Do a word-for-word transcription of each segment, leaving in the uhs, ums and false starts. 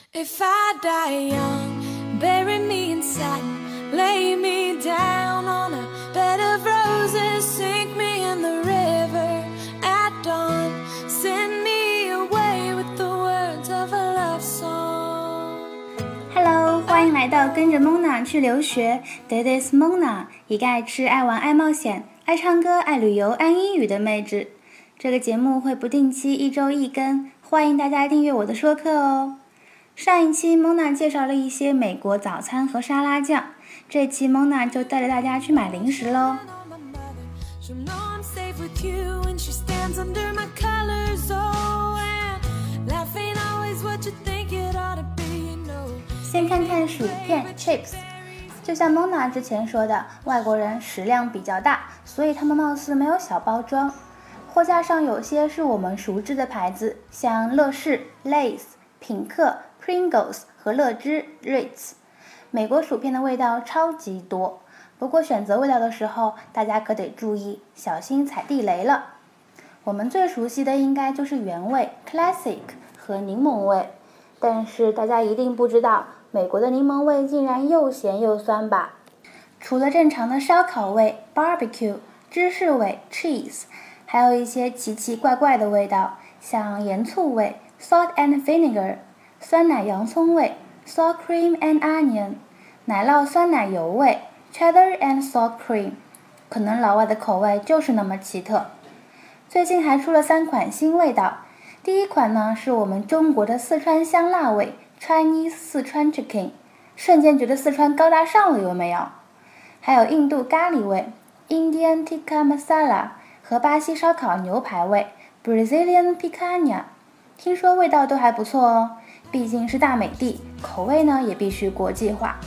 If I die young, bury me in satin, lay me down on a bed of roses, sink me in the river at dawn, send me away with the words of a love song. Hello， 欢迎来到跟着 Mona 去留学 This is Mona， 一个爱吃、爱玩、爱冒险、爱唱歌、爱旅游、爱英语的妹纸。这个节目会不定期一周一更，欢迎大家订阅我的说课哦。上一期 Mona 介绍了一些美国早餐和沙拉酱，这期 Mona 就带着大家去买零食喽。先看看薯片 chips， 就像 Mona 之前说的，外国人食量比较大，所以他们貌似没有小包装。货架上有些是我们熟知的牌子，像乐事、Lay's、品客、Pringles 和乐之 Ritz。 美国薯片的味道超级多，不过选择味道的时候，大家可得注意，小心踩地雷了。我们最熟悉的应该就是原味 Classic 和柠檬味，但是大家一定不知道，美国的柠檬味竟然又咸又酸吧。除了正常的烧烤味 Barbecue、 芝士味 Cheese， 还有一些奇奇怪怪的味道，像盐醋味 Salt and Vinegar， 酸奶洋葱味 Sour Cream and Onion， 奶酪酸奶油味 Cheddar and Sour Cream。 可能老外的口味就是那么奇特。最近还出了三款新味道，第一款呢是我们中国的四川香辣味 Chinese 四川 Chicken， 瞬间觉得四川高大上了，有没有？还有印度咖喱味 Indian Tikka Masala 和巴西烧烤牛排味 Brazilian Picanha， 听说味道都还不错哦，毕竟是大美帝，口味呢也必须国际化。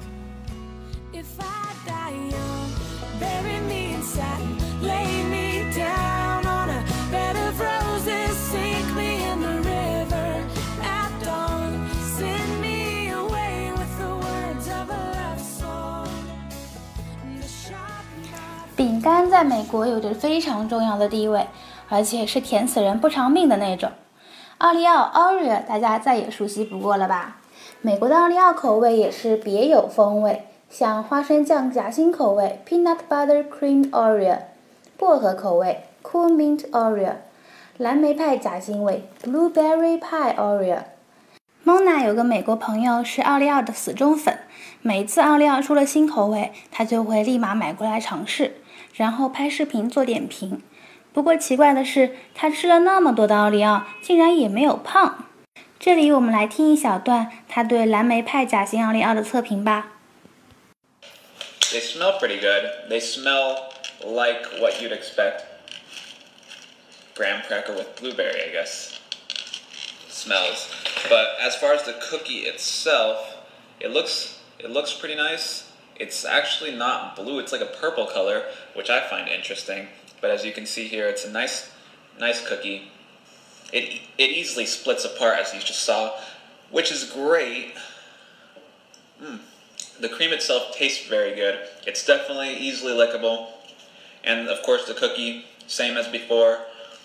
饼干在美国有着非常重要的地位，而且是甜死人不偿命的那种。奥利奥 Oreo 大家再也熟悉不过了吧？美国的奥利奥口味也是别有风味，像花生酱夹心口味 Peanut Butter Cream Oreo， 薄荷口味 Cool Mint Oreo， 蓝莓派夹心味 Blueberry Pie Oreo。Mona 有个美国朋友是奥利奥的死忠粉，每次奥利奥出了新口味，他就会立马买过来尝试，然后拍视频做点评。不过奇怪的是，他吃了那么多的奥利奥，竟然也没有胖。这里我们来听一小段他对蓝莓派夹心奥利奥的测评吧。 They smell pretty good. They smell like what you'd expect. Graham cracker with blueberry, I guess. Smells. But as far as the cookie itself, it looks it looks pretty nice. It's actually not blue, it's like a purple color, which I find interesting. But as you can see here, it's a nice nice cookie. It it easily splits apart, as you just saw, which is great. Mm. The cream itself tastes very good. It's definitely easily lickable. And of course the cookie, same as before.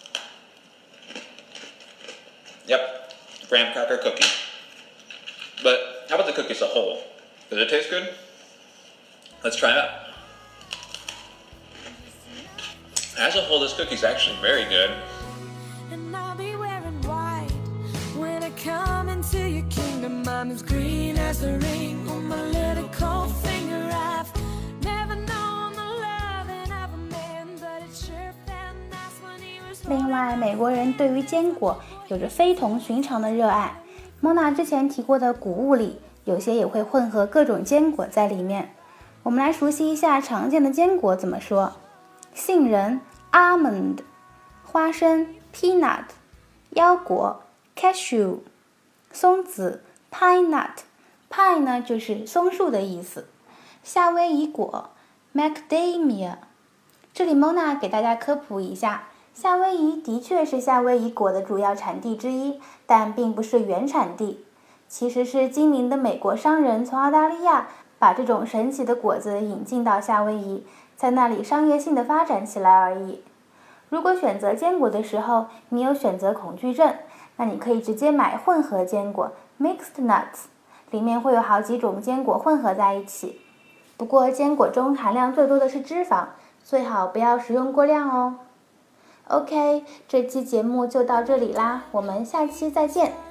Yep, graham cracker cookie. But how about the cookie as a whole? Does it taste good? Let's try it out. As a whole, this cookie's actually very good. And I'll be wearing white when I come into your kingdom. I'm as green as the ring on my little cold finger. I've never known the loving of a man, but it sure felt nice when he was. 另外，美国人对于坚果有着非同寻常的热爱。Mona 之前提过的谷物里，有些也会混合各种坚果在里面。我们来熟悉一下常见的坚果怎么说。杏仁 Almond， 花生 Peanut， 腰果 Cashew， 松子 Pine Nut， Pine 呢就是松树的意思。夏威夷果 Macadamia。 这里 Mona 给大家科普一下，夏威夷的确是夏威夷果的主要产地之一，但并不是原产地，其实是精明的美国商人从澳大利亚把这种神奇的果子引进到夏威夷，在那里商业性的发展起来而已。如果选择坚果的时候你有选择恐惧症， 那你可以直接买混合坚果 mixed nuts， 里面会有好几种坚果混合在一起。不过坚果中含量最多的是脂肪，最好不要食用过量哦。OK， 这期节目就到这里啦，我们下期再见。